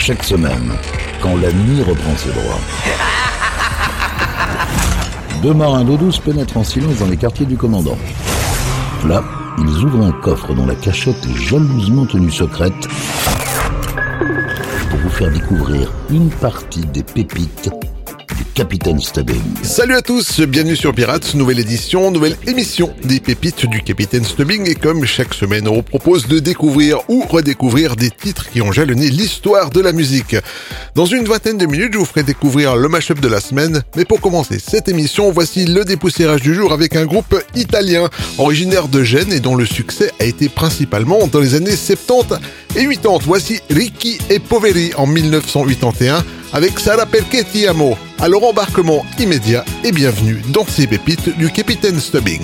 Chaque semaine, quand la nuit reprend ses droits. Deux marins d'eau douce pénètrent en silence dans les quartiers du commandant. Là, ils ouvrent un coffre dont la cachette est jalousement tenue secrète pour vous faire découvrir une partie des pépites du Capitaine Stubbing. Salut à tous, bienvenue sur Pirates, nouvelle édition, nouvelle émission des pépites du Capitaine Stubbing. Et comme chaque semaine, on vous propose de découvrir ou redécouvrir des titres qui ont jalonné l'histoire de la musique. Dans une vingtaine de minutes, je vous ferai découvrir le mash-up de la semaine. Mais pour commencer cette émission, voici le dépoussiérage du jour avec un groupe italien, originaire de Gênes et dont le succès a été principalement dans les années 70 et 80. Voici Ricchi e Poveri en 1981 avec Sarà perché ti amo. Alors embarquement immédiat et bienvenue dans ces pépites du Capitaine Stubbing.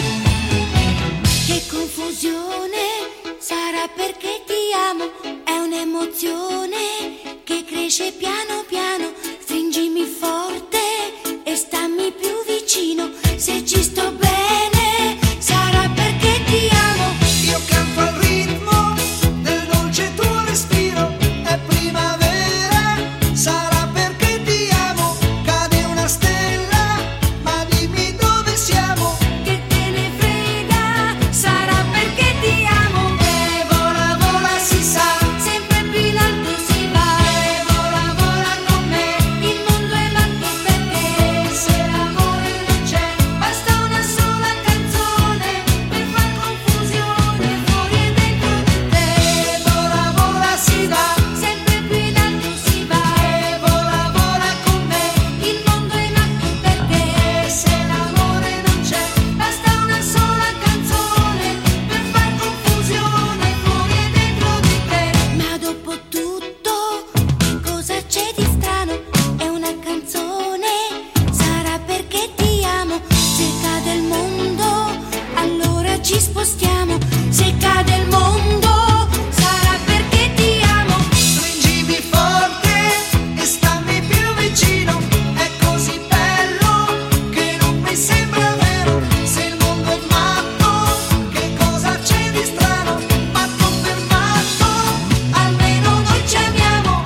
Che confusione, sarà perché ti amo, è un'emozione che cresce piano piano, stringimi forte e stammi più vicino, se ci sto bene, sarà perché ti amo. Io canto al ritmo del dolce tuo respiro, è primavera, sarà perché ti amo, cade una stella, ma dimmi dove siamo. Che te ne frega, sarà perché ti amo. E vola, vola, si sa, Sempre più in alto si va, e vola, vola con me, il mondo è matto per te. se l'amore non c'è, Basta una sola canzone per far confusione fuori e dentro di te. e vola, vola, si va, Sempre più in alto si va, e vola, vola con me, il mondo è matto per te. se l'amore non c'è, Basta una sola canzone per far confusione fuori e dentro di te. Ma dopo tutto, cosa c'è di strano? È una canzone, sarà perché ti amo. Se cade il mondo, allora ci spostiamo. Se cade il mondo, sarà perché ti amo. stringimi forte e stammi più vicino, è così bello che non mi sembra vero, se il mondo è matto, che cosa c'è di strano, matto per matto, Almeno noi ci amiamo.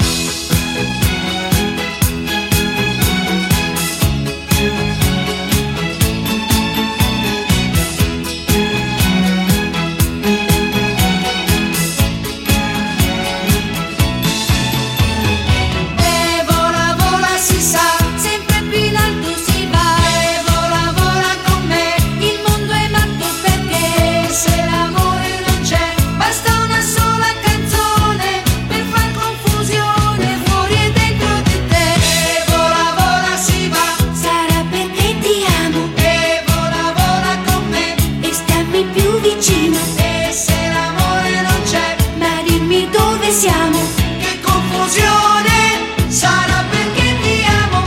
e vola, vola, si sa, Sempre più in alto si va, e vola, vola con me, il mondo è matto perché se l'amore non c'è, basta una sola canzone per far confusione fuori e dentro di te. e vola, vola, si va, Sarà perché ti amo e vola, vola con me, e stammi più vicino, e se l'amore non c'è, ma dimmi dove siamo. che confusione, sarà perché ti amo.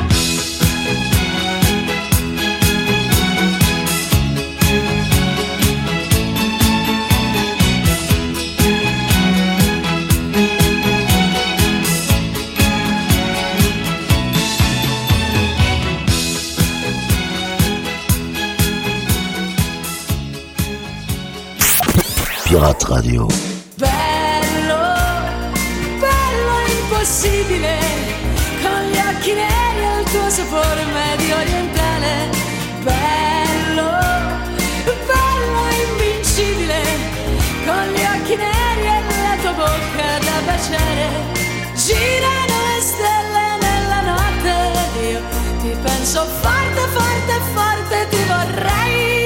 Pirate Radio. Bello, bello impossibile, con gli occhi neri e il tuo sapore medio orientale. Bello, bello invincibile, con gli occhi neri e la tua bocca da baciare. Girano le stelle nella notte, io ti penso forte, forte, forte, ti vorrei.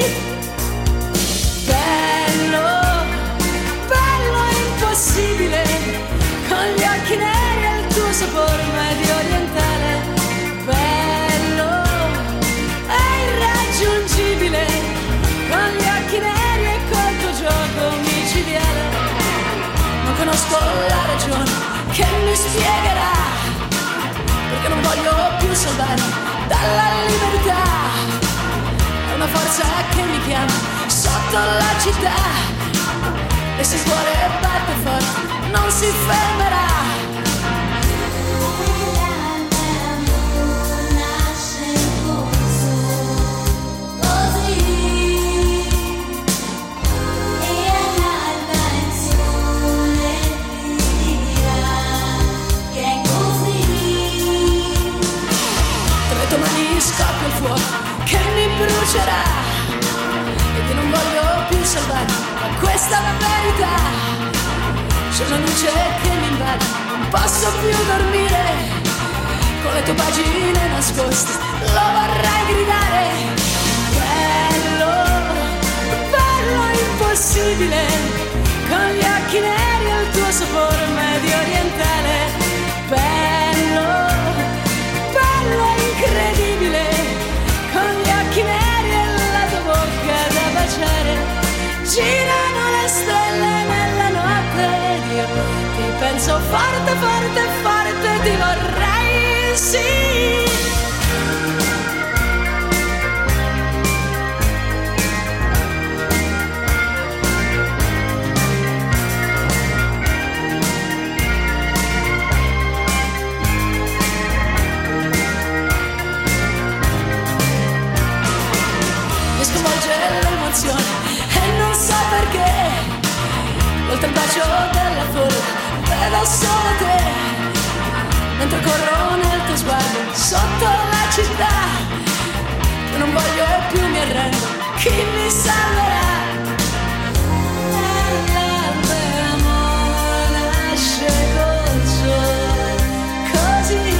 Bello, bello impossibile, con gli occhi neri e il tuo sapore medio orientale. Bello, è irraggiungibile, con gli occhi neri e col tuo gioco micidiale. Non conosco la ragione che mi spiegherà perché non voglio più salvare dalla libertà. È una forza che mi chiama sotto la città, e se il cuore batte forte non si fermerà. Che scoppia il fuoco che mi brucerà e che non voglio più salvare, ma questa è la verità. C'è una luce che mi invade, non posso più dormire, con le tue pagine nascoste lo vorrei gridare. Bello, bello impossibile, con gli occhi neri e il tuo sapore medio orientale. Bello, bello incredibile, con gli occhi neri e la tua bocca da baciare. Girano le stelle nella notte ed io ti penso forte, forte, forte, ti vorrei, sì. E non so perché, oltre il bacio della folla vedo solo te, mentre corro nel tuo sguardo sotto la città. Io non voglio più, mi arrendo, chi mi salverà? L'amore nasce col sole, così.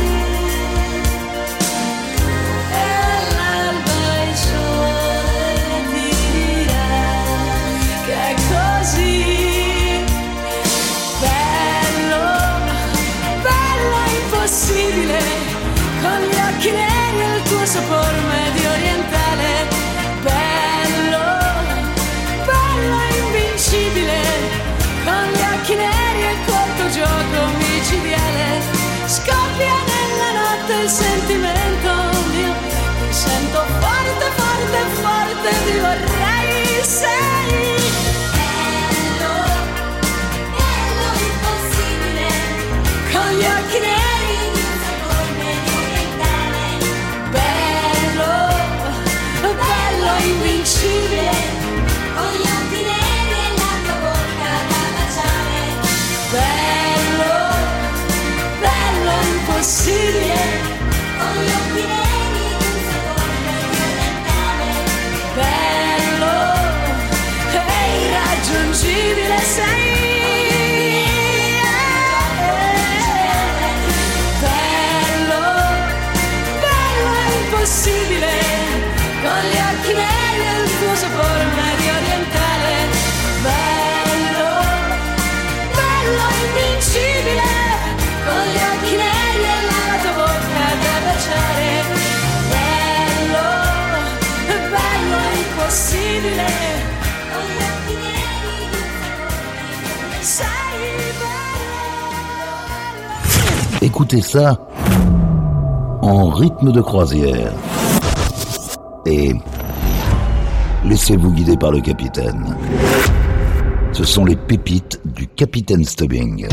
Con gli occhi neri e il tuo sapore medio orientale. Bello, bello invincibile, con gli occhi neri e col tuo gioco micidiale. Scoppia nella notte il sentimento mio, mi sento forte, forte, forte, ti vorrei, sei. Bello, bello impossibile, con gli occhi neri. Invincibile, con gli occhi neri e la tua bocca da baciare. Bello, bello impossibile, con gli occhi neri e un sapore orientale. Bello e irraggiungibile sei. Bello, bello impossibile, con gli occhi neri e il tuo sapore medio orientale. Bello, bello invincibile, con gli occhi neri e la tua bocca da baciare. Bello, bello impossibile, con gli occhi neri e il sapore. Sei bello. Écoutez ça en rythme de croisière. Et laissez-vous guider par le capitaine. Ce sont les pépites du Capitaine Stubbing.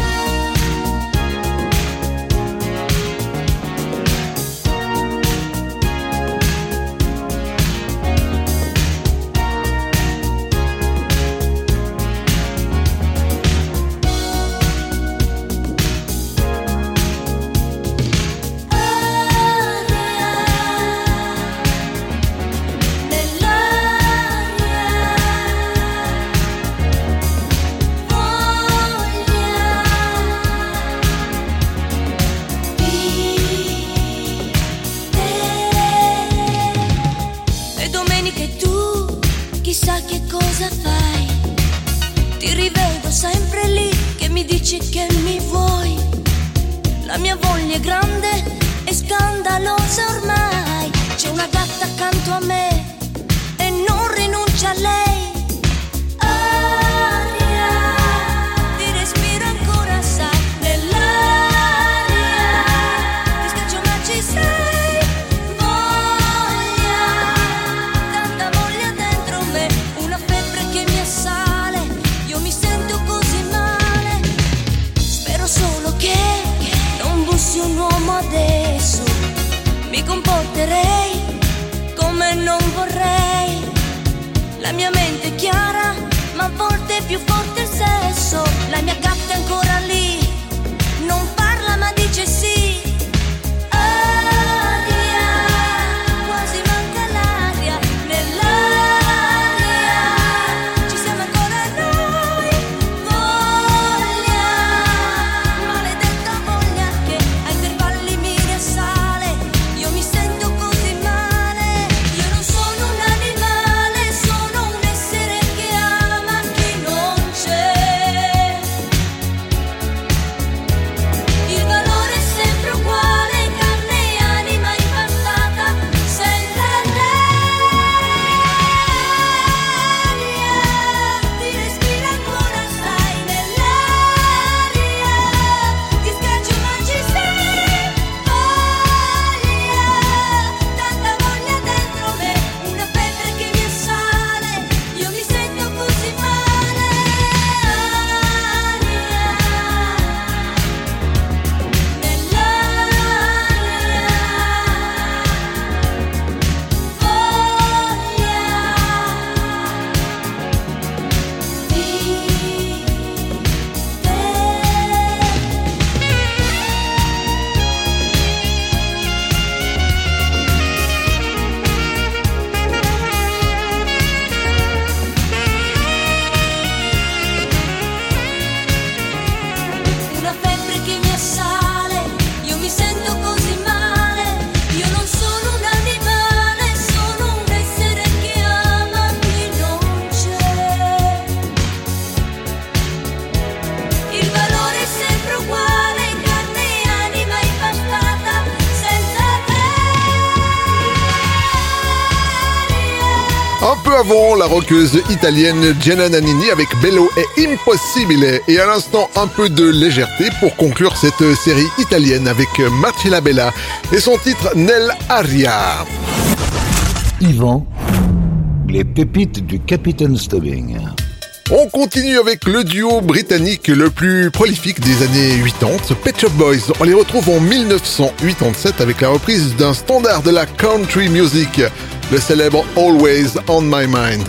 Un peu avant, la rockeuse italienne Gianna Nannini avec Bello et Impossibile. Et à l'instant, un peu de légèreté pour conclure cette série italienne avec Marcella Bella et son titre Nell'aria. Yvan, les pépites du Capitaine Stubbing. On continue avec le duo britannique le plus prolifique des années 80, Pet Shop Boys. On les retrouve en 1987 avec la reprise d'un standard de la country music, le célèbre Always on My Mind.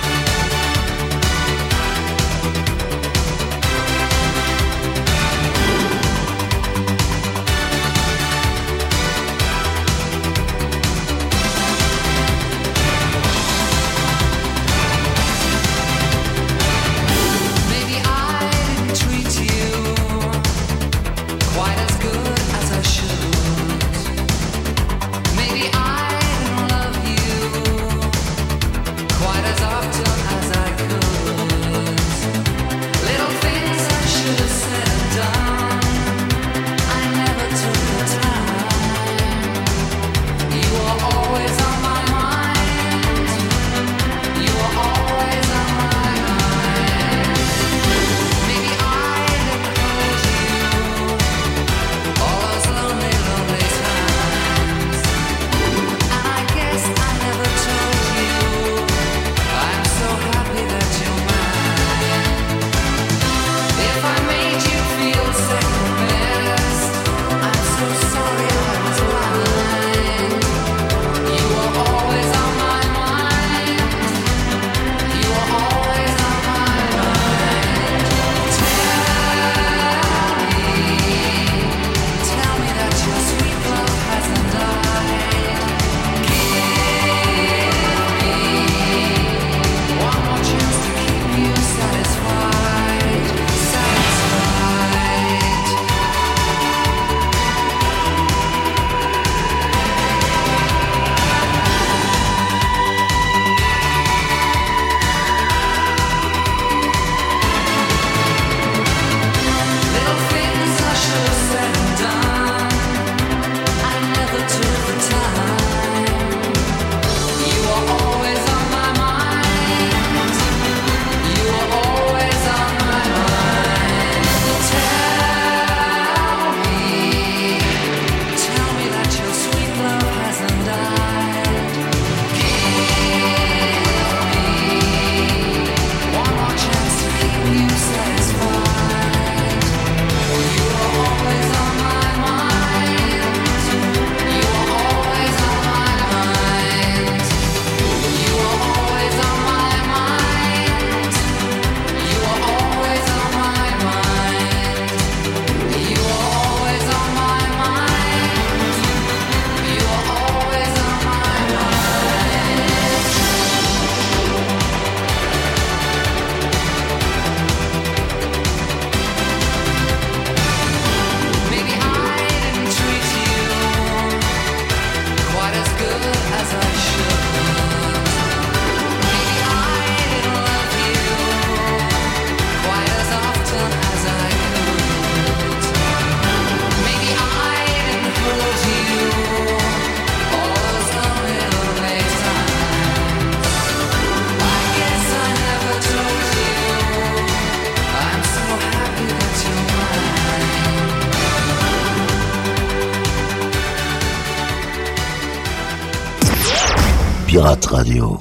Pirate Radio.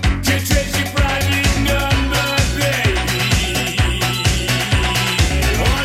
Oh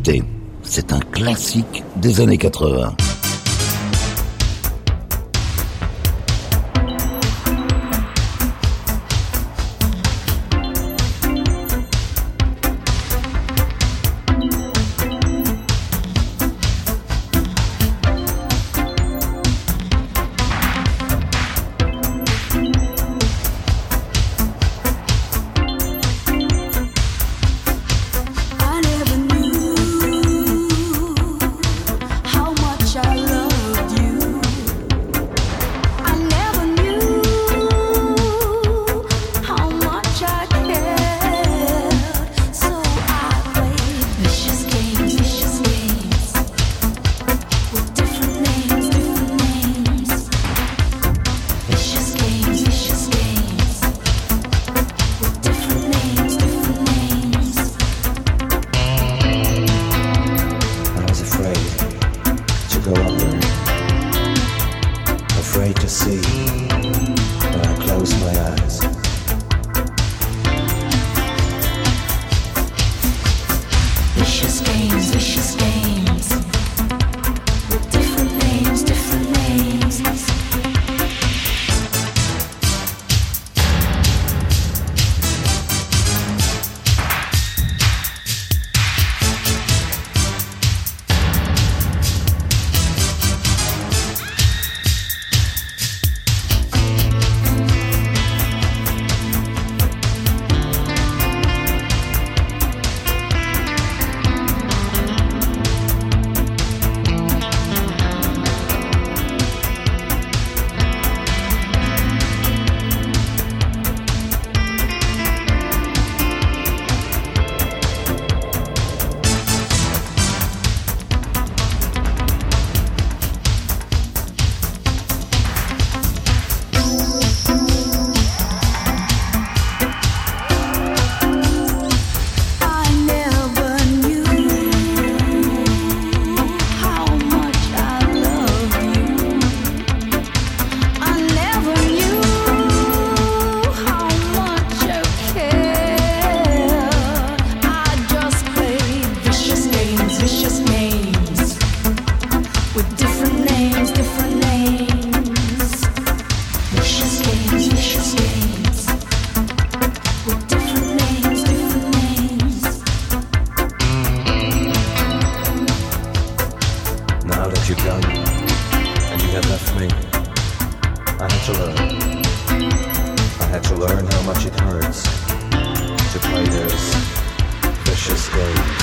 Écoutez, c'est un classique des années 80. I never knew how much I loved you. I never knew how much I cared. So I played vicious games with different names. Vicious games with different names. I was afraid to go under, afraid to see when I closed my eyes. Vicious games with different names. I never knew how much I loved you. I never knew how much I cared. I just played vicious games with different names. Vicious games with different names. Now that you're gone and you have left me, I had to learn how much it hurts to play those vicious games.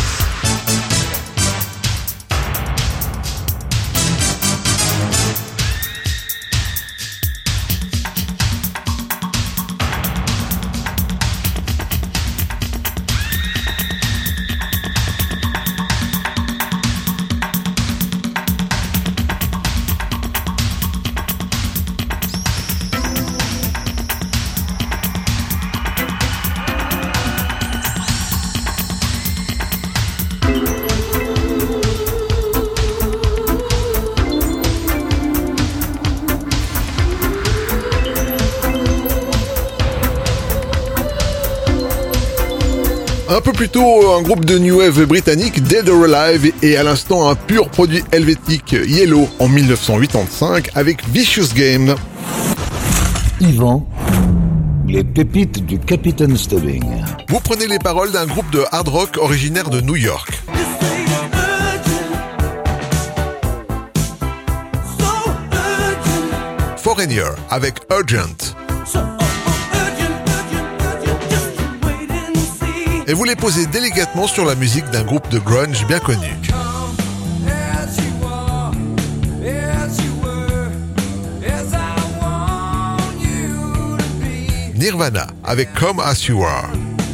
Un peu plus tôt, un groupe de New Wave britannique, Dead or Alive, et à l'instant un pur produit helvétique, Yellow, en 1985, avec Vicious Game. Yvan, les pépites du Capitaine Stubbing. Vous prenez les paroles d'un groupe de hard rock originaire de New York. Foreigner, avec Urgent. Et vous les posez délicatement sur la musique d'un groupe de grunge bien connu. Nirvana avec Come As You Are.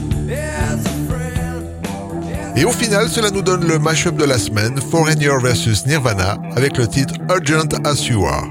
Et au final, cela nous donne le mash-up de la semaine, Foreigner vs Nirvana, avec le titre Urgent As You Are.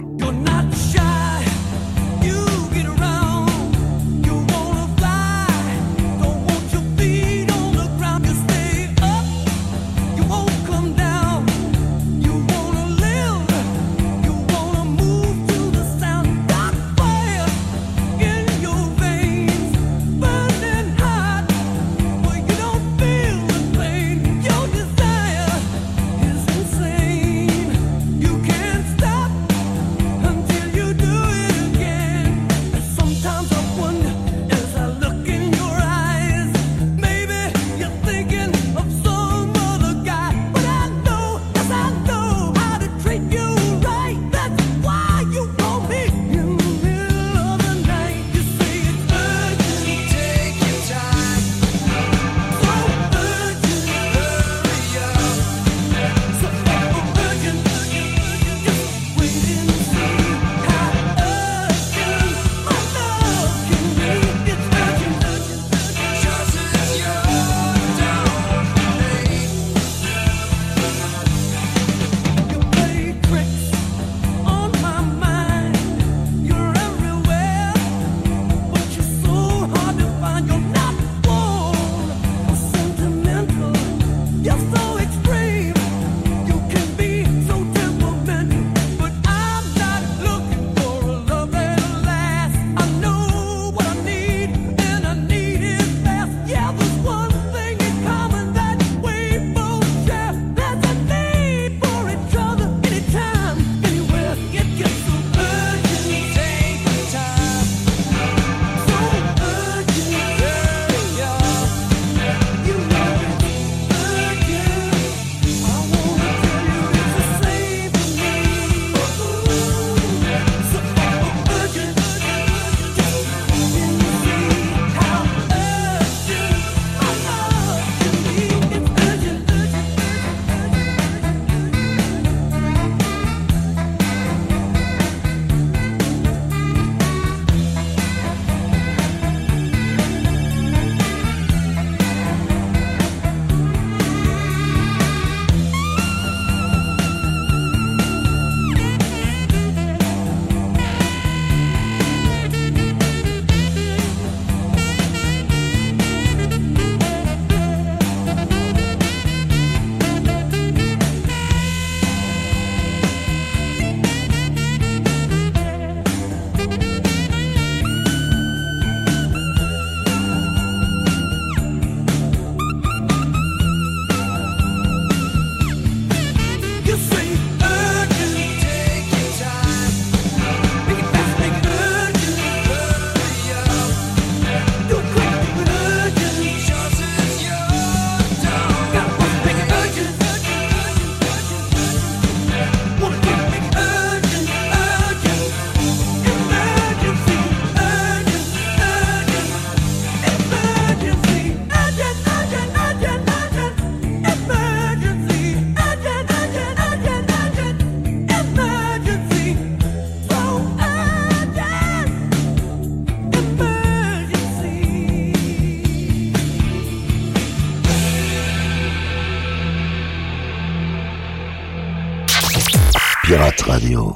Pirate Radio.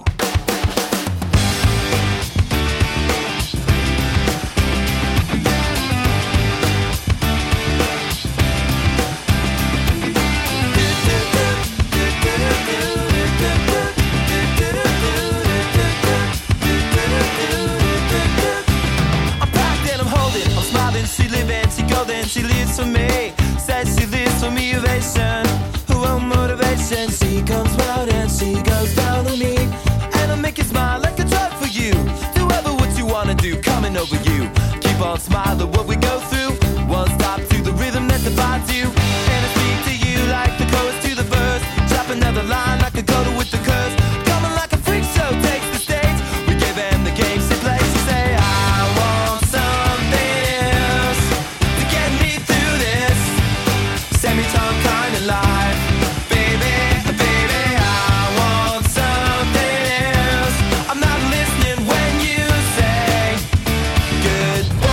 I'm packed and I'm holding, I'm smiling, she living, she golden, she lives for me. Says she lives for me, ovation, her own motivation. She comes round and she goes down on me, and I'll make you smile like a drug for you. Do ever what you wanna do, coming over you. Keep on smiling what we go through. One stop to the rhythm that divides you, and I speak to you like the chorus to the verse. Drop another line like a coda with the curse. Coming like a freak show takes the stage. We gave them the game she plays. She say I want something else to get me through this semi-tongue kind of life. Baby, baby, I want something else. I'm not listening when you say goodbye.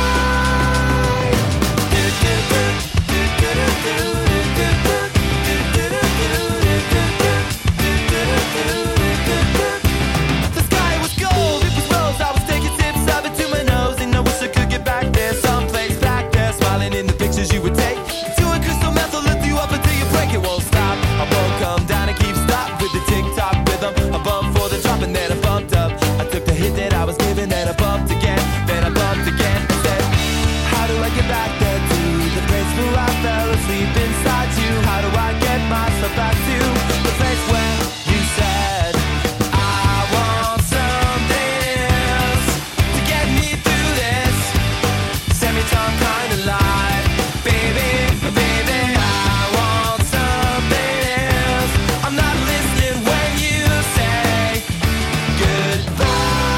The sky was gold, it was rose. I was taking sips of it to my nose, and I wish I could get back there, someplace back there, smiling in the pictures you would take. To a crystal meth, I'll lift you up until you break. It won't stop. I won't come down and keep stop with the tick-tock rhythm. I bumped for the drop and then I bumped up. I took the hit that I was given, then I bumped again, then I bumped again. I said, how do I get back there to the place where I fell asleep inside you? How do I get myself back to the place where you said I want something else to get me through this semi-tongue kind of life? Baby, baby, I want something else. I'm not listening when you say goodbye.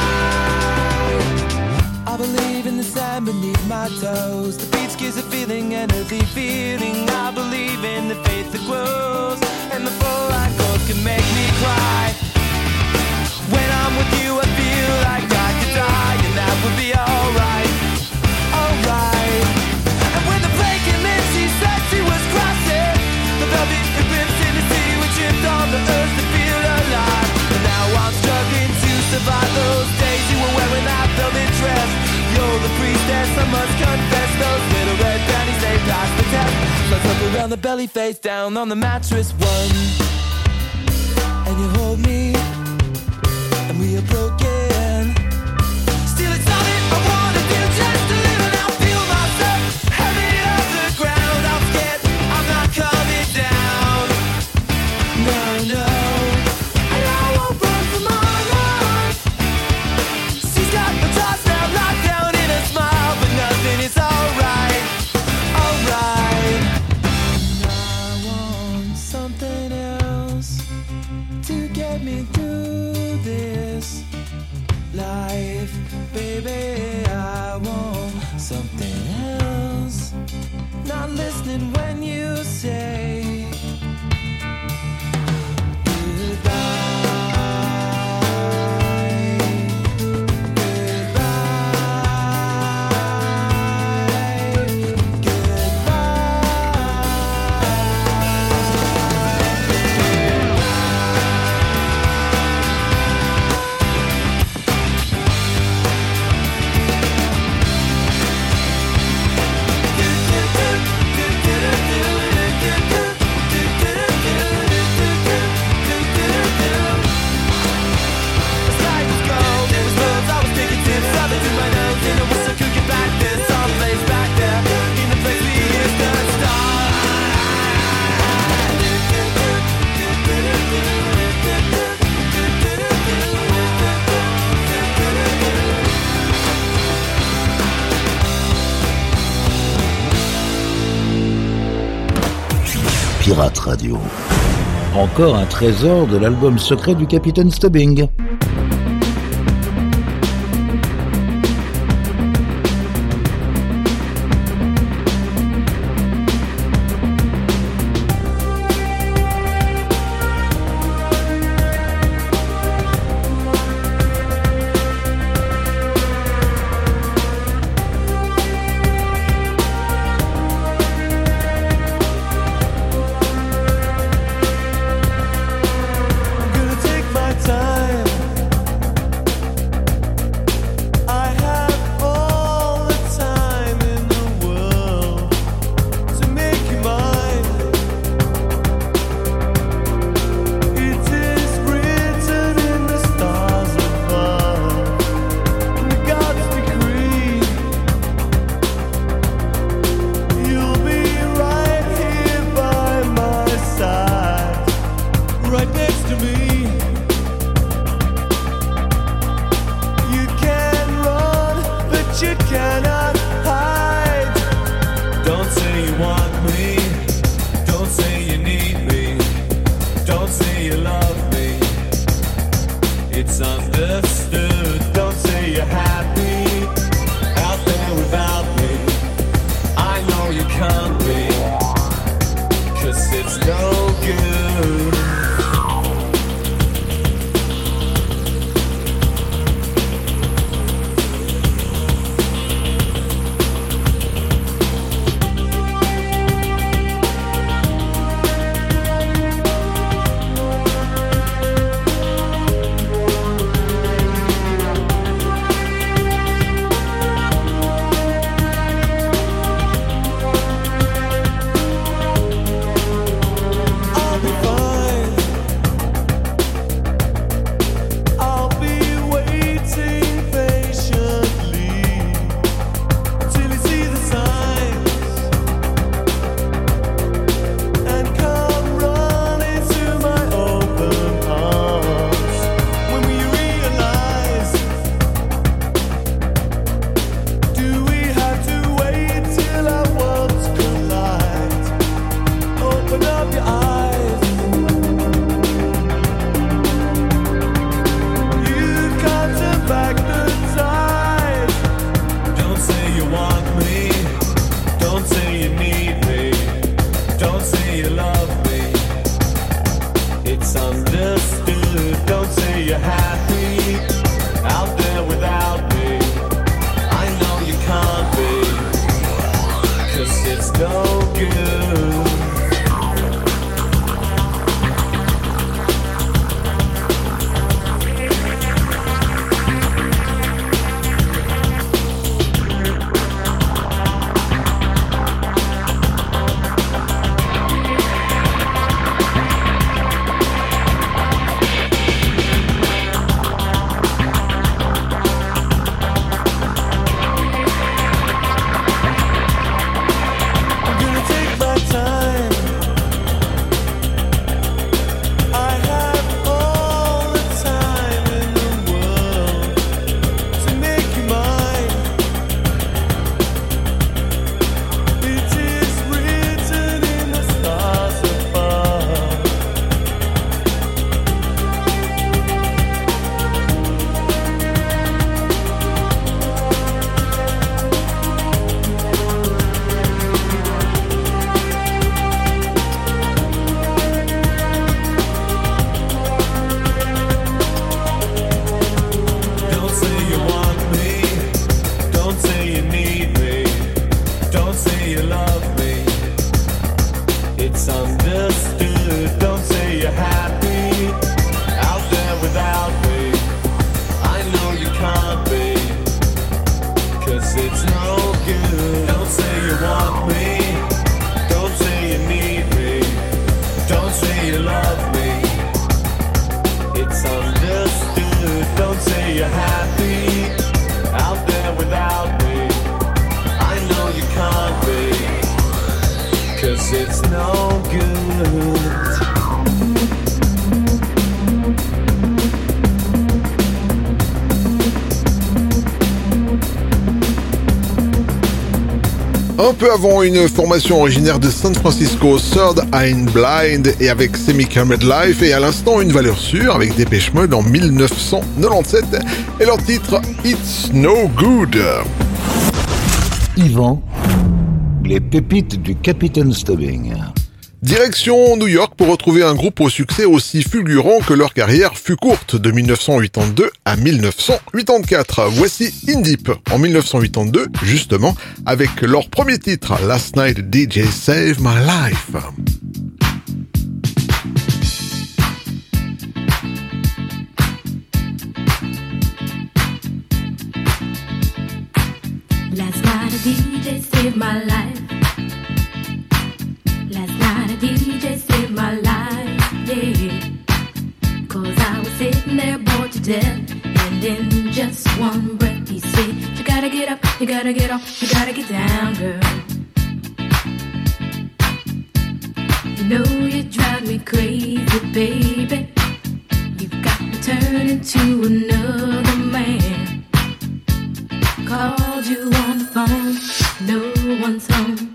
I believe in the sand beneath my toes. The beach gives a feeling, an earthy feeling. I believe in the faith that grows, and the full light goes can make me cry. When I'm with you, I feel like I could die, and that would be alright, alright. And when the plane came in, she said she was crossing the velvet ribbons in the sea. We tripped on the earth to feel alive, and now I'm struggling to survive those days you were wearing that velvet dress. You're the priestess, I must confess. Those little red panties, they passed the test. Let's look around the belly, face down on the mattress. One, and you hold me, and we are broken. Still, it's all that I wanna do, just to live and I'll feel myself heavy off the ground. I'm scared, I'm not coming down. No, no, and I won't run from my life. She's got the thoughts now locked down in a smile, but nothing is alright, alright. And I want something else to get me through this life. Baby, I want something else. Not listening when you say Pirate Radio. Encore un trésor de l'album secret du Capitaine Stubbing. Gonna take my It's understood. Don't say you're happy out there without me. I know you can't be, 'cause it's no good. Un peu avant, une formation originaire de San Francisco, Third Eye Blind, et avec Semi-Camera Life, et à l'instant une valeur sûre avec Dépêche Mode en 1997 et leur titre It's No Good. Yvan, les pépites du Capitaine Stubbing. Direction New York pour retrouver un groupe au succès aussi fulgurant que leur carrière fut courte, de 1982 à 1984. Voici In Deep en 1982, justement, avec leur premier titre, Last Night DJ Saved My Life. Last night a DJ saved my life. Last night a DJ saved my life, yeah. 'Cause I was sitting there bored to death, and in just one breath he said, you gotta get up, you gotta get off, you gotta get down, girl. You know you drive me crazy, baby. You've got me turning to another man. Called you on the phone, no one's home.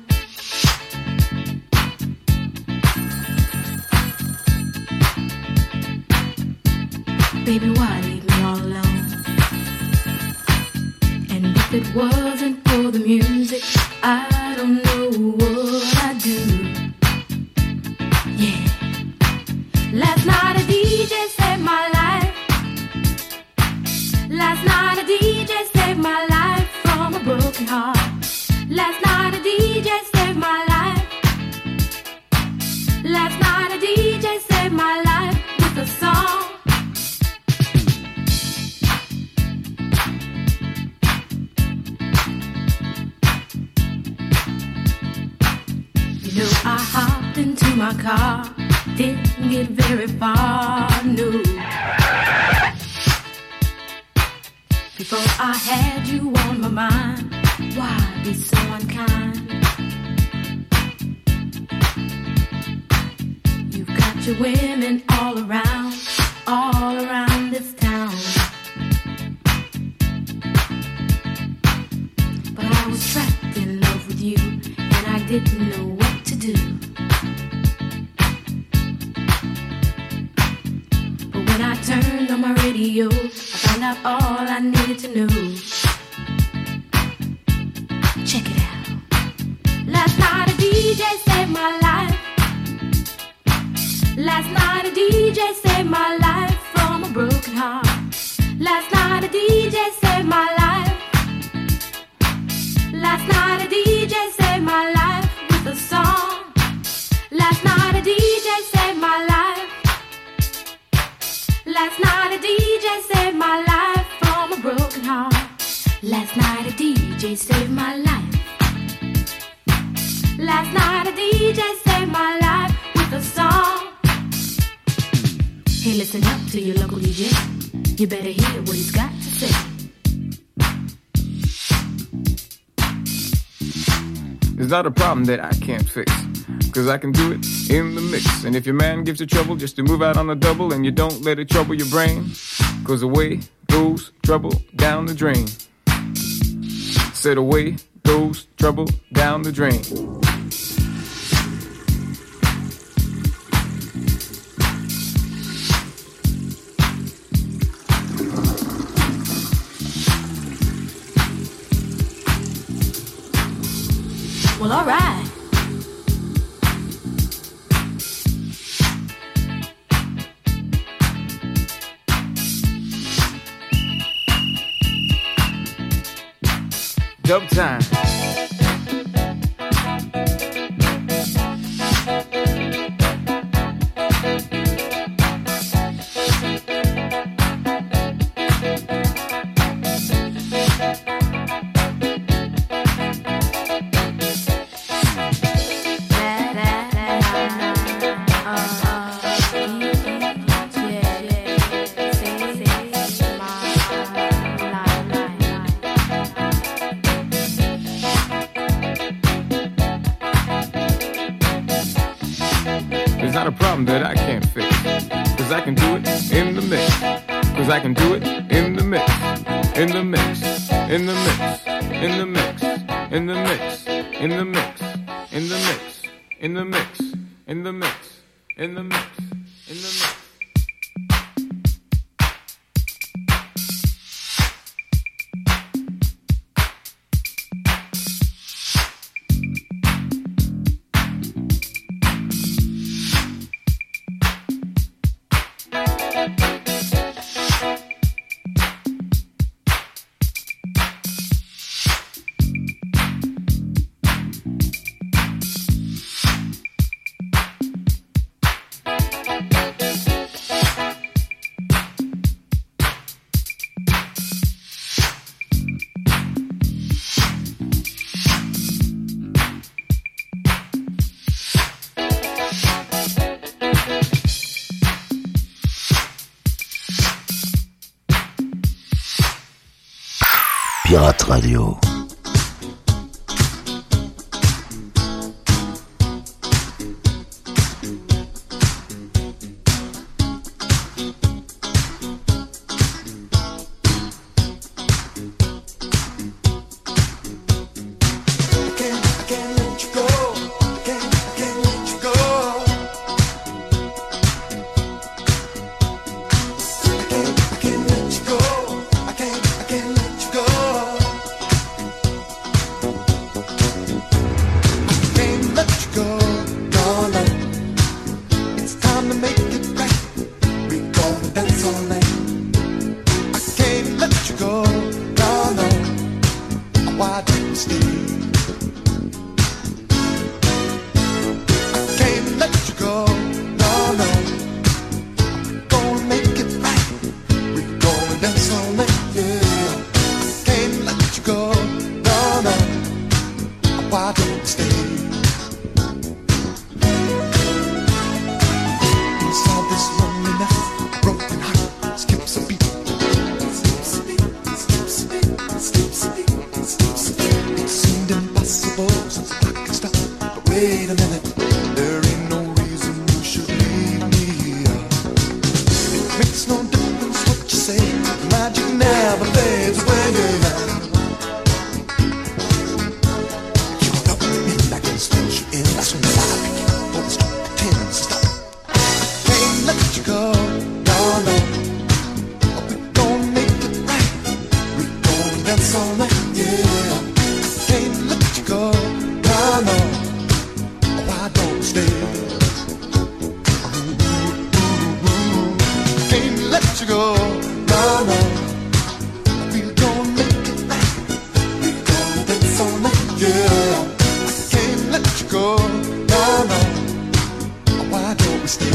Baby, why leave If it wasn't for the music, I don't know what I'd do. Yeah. Last night a DJ saved my life. Last night a DJ saved my life from a broken heart. Last night a DJ saved my life. Last night a DJ saved my life with a song. You know, I hopped into my car, didn't get very far, no. Before I had you on my mind, why be so unkind? You've got your women all around this town. But I was trapped in love with you, and I didn't know what to do. But when I turned on my radio, I found out all I needed to know. Check it out. Last night a DJ saved my life. Last night a DJ saved my life from a broken heart. Last night a DJ saved my life. Last night a DJ saved my life with a song. Last night a DJ saved my life. Last night a DJ saved my life from a broken heart. Last night a DJ saved my life. Last night a DJ saved my life with a song. Hey, listen up to your local DJ. You better hear what he's got to say. It's not a problem that I can't fix, 'cause I can do it in the mix. And if your man gives you trouble just to move out on the double, and you don't let it trouble your brain, 'cause away goes trouble down the drain. Said away goes trouble down the drain. Well, all right. Dub time. It's not a problem that I can't fix, 'cause I can do it in the mix. 'Cause I can do it in the mix. In the mix. In the mix. In the mix. In the mix. In the mix. In the mix. In the mix. In the mix. In the mix. In the mix. Pirate Radio. dance all night. I can't let you go, no, no. Why don't you stay? I can't let you go, no, no. Gonna make it right. We're gonna dance all night, yeah. Can't let you go, no, no. Why don't you stay? Inside this loneliness, a broken heart skips a beat. Skips a beat, skips a beat, skips a beat, skips a beat. It seemed impossible since I could stop. But wait a minute, there ain't no reason you should leave me here. It makes no difference what you say, the magic never fades away. You're the only man that can snatch you in. That's when I pick you for the strong pretends to stop. Can't let you go, no, no. We're gonna make it right. We're gonna dance all night, yeah. Can't let you go, no, no. Why don't you stay? Can't let you go, no, no. We're gonna make it right. We're gonna dance all night, yeah. Can't let you go, no, no. Why don't we stay?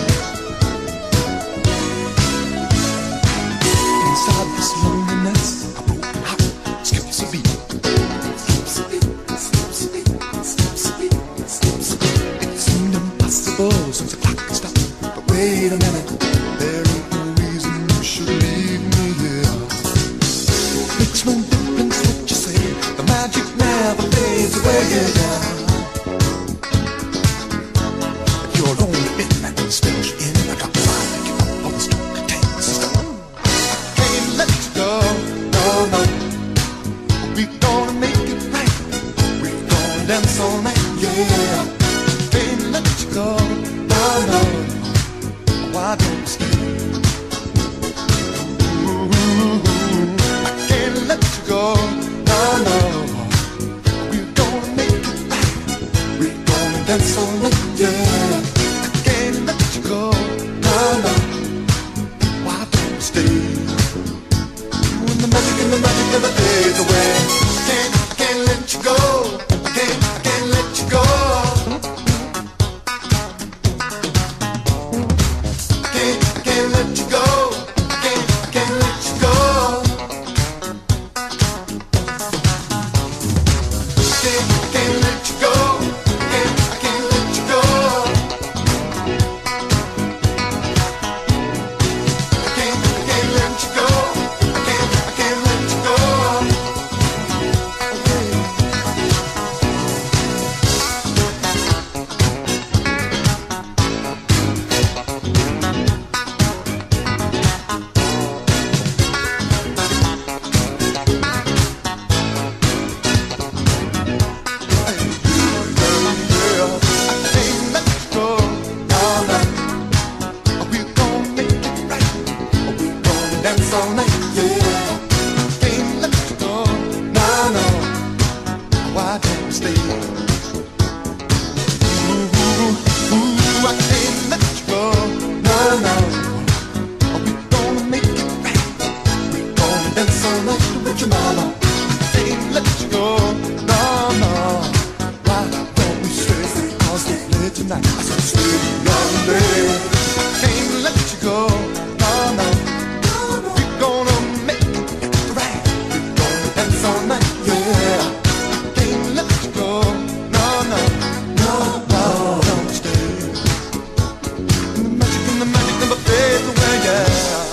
Inside this loneliness, a broken heart skips a beat. Skips a beat, skips a beat, skips a beat, skips a beat. It seemed impossible since the clock could stop. But wait a minute, there ain't no reason you should leave me here. Makes no difference what you say, the magic never fades away. You're only in that spells you in. I got to find you up on the strong pretends to stop. Can't let you go, no, no. We're gonna make it right. We're gonna dance all night, yeah. Can't let you go, no, no. Why don't you stay? I can't let you go, no, no. We're gonna make it right. We're gonna dance all night, yeah. I can't let you go, no, no. Why don't you stay? You and the magic never fades away. I can't let you go. I can't let you go. I can't let you go. I can't let you go. I can't let you go. I can't let you go. I can't let you go. I can't let you go. Tonight, I said, stay young, baby. Can't let you go, no, no. We're gonna make it right. We're gonna dance all night, yeah. Can't let you go, no, no, no, no. Don't stay. And the magic never fades away, yeah.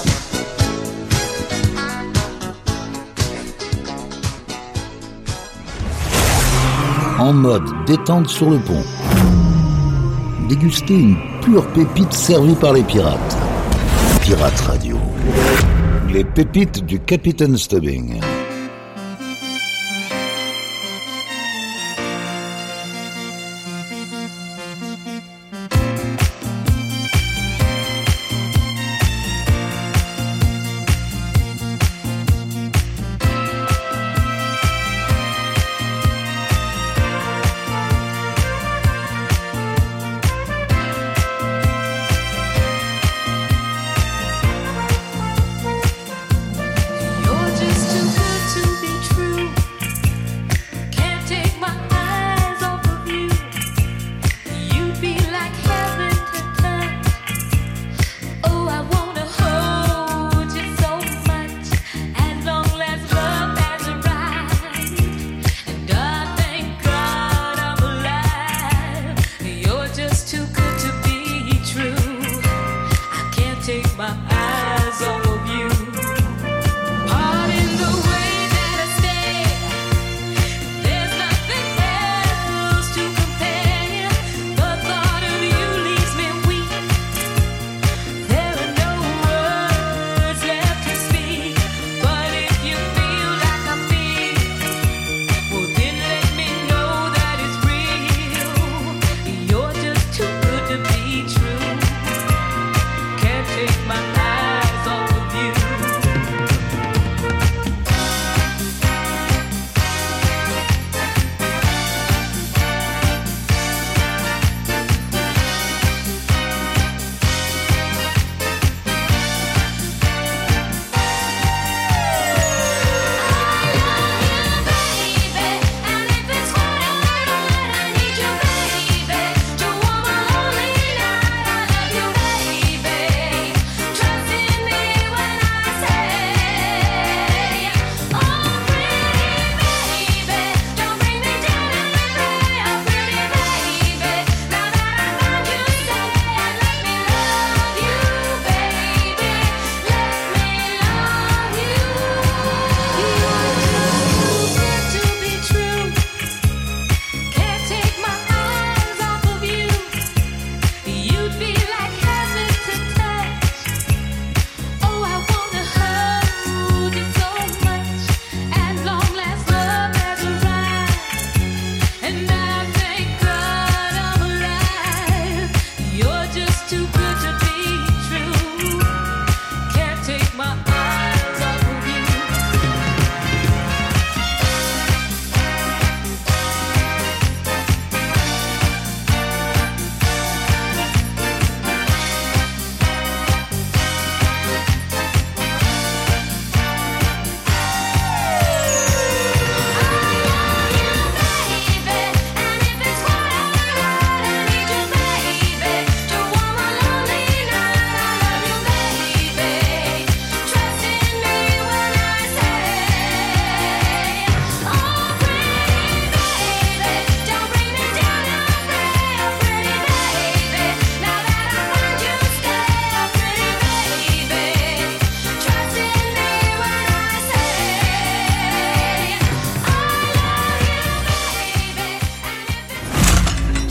En mode détente sur le pont. Déguster une pure pépite servie par les pirates. Pirate Radio. Les pépites du Capitaine Stubbing.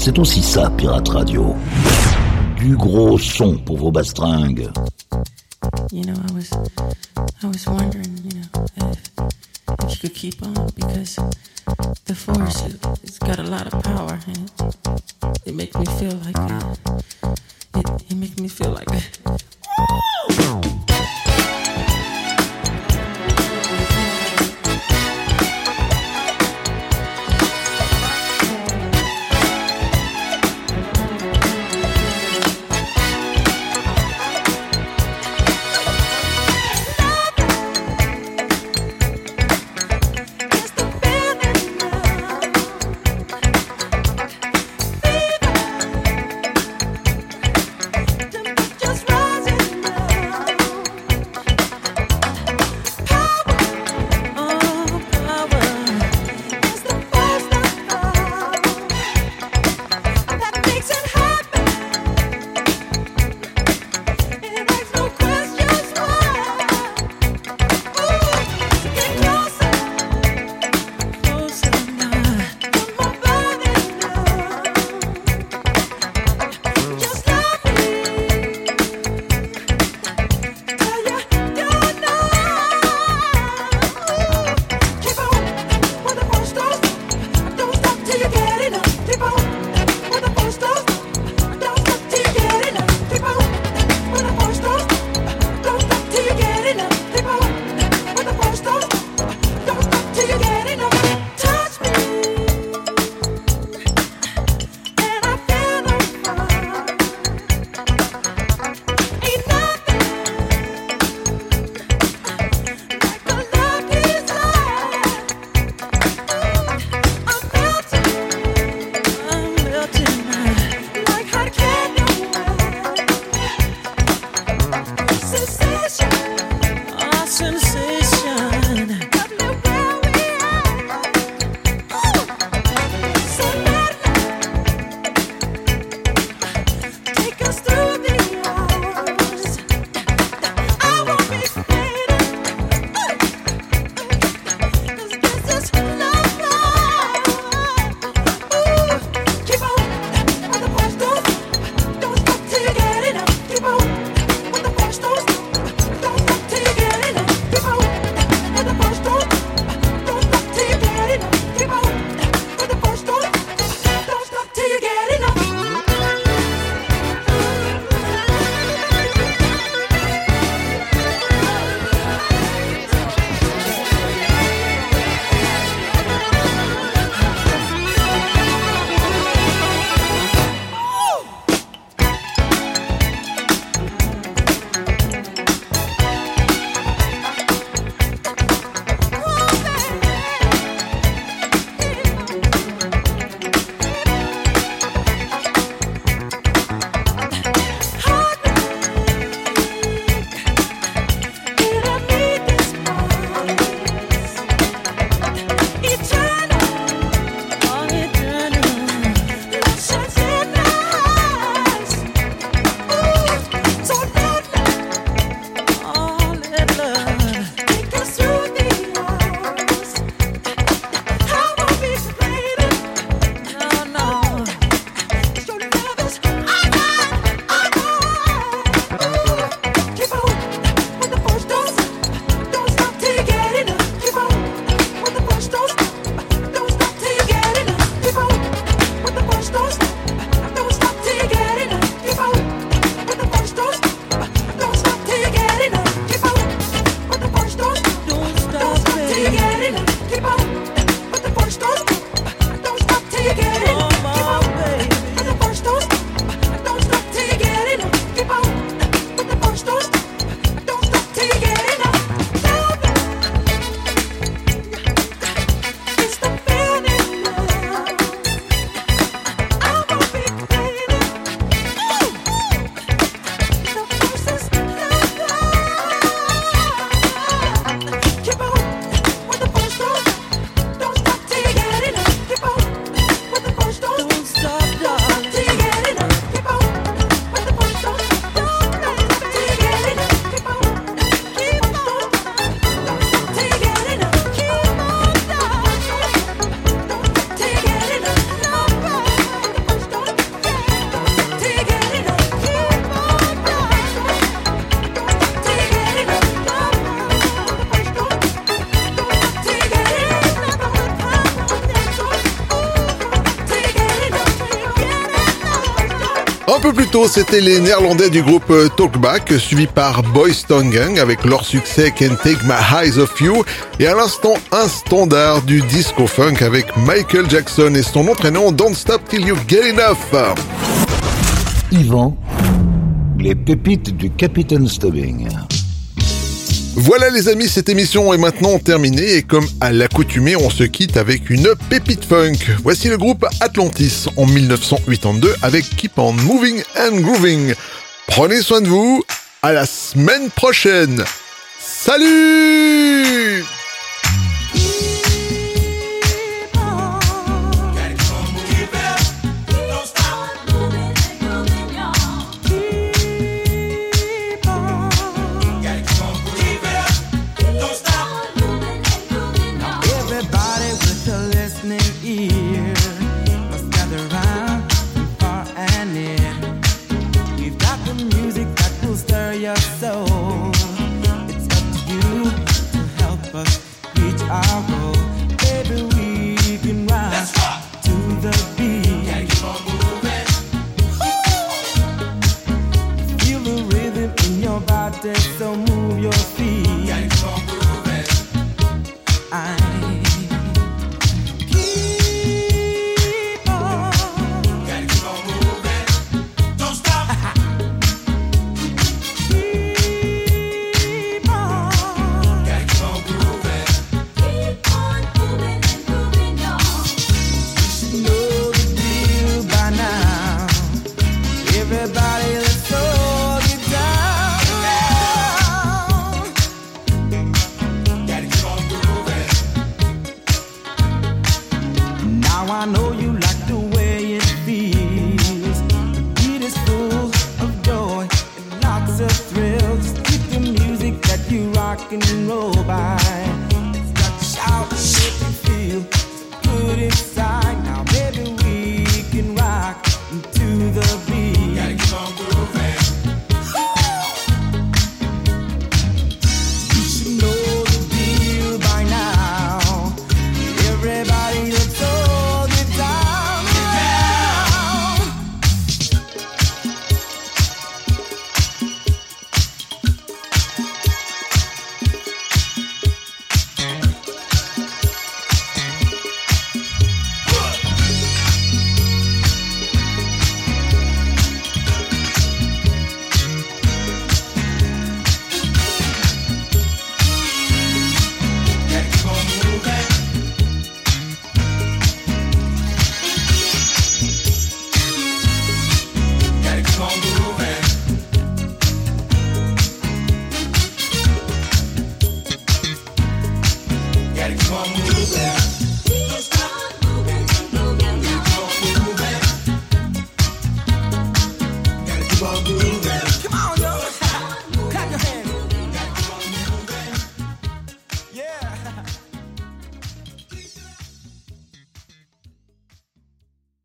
C'est aussi ça, Pirate Radio. Du gros son pour vos bastringues. You know, I was wondering, if you could keep on, because the force, it's got a lot of power, and it makes me feel like it makes me feel like Just rising. peu plus tôt, c'était les Néerlandais du groupe Talkback, suivi par Boys Town Gang avec leur succès Can't Take My Eyes Off You, et à l'instant un standard du disco funk avec Michael Jackson et son entraînant Don't Stop Till You Get Enough. Yvan, les pépites du Capitaine Stubbing. Voilà les amis, cette émission est maintenant terminée et comme à l'accoutumée, on se quitte avec une pépite funk. Voici le groupe Atlantis en 1982 avec Keep On Moving and Grooving. Prenez soin de vous, à la semaine prochaine. Salut! So move your feet. Keep on moving. Keep on. Gotta keep on moving. Don't stop. Keep on. Gotta keep on grooving. Keep on moving and grooving, y'all. You should know the deal by now. Everybody, let's all get down. I know you like the way it feels. The beat is full of joy and lots of thrills. Just keep the music that you rock and roll by.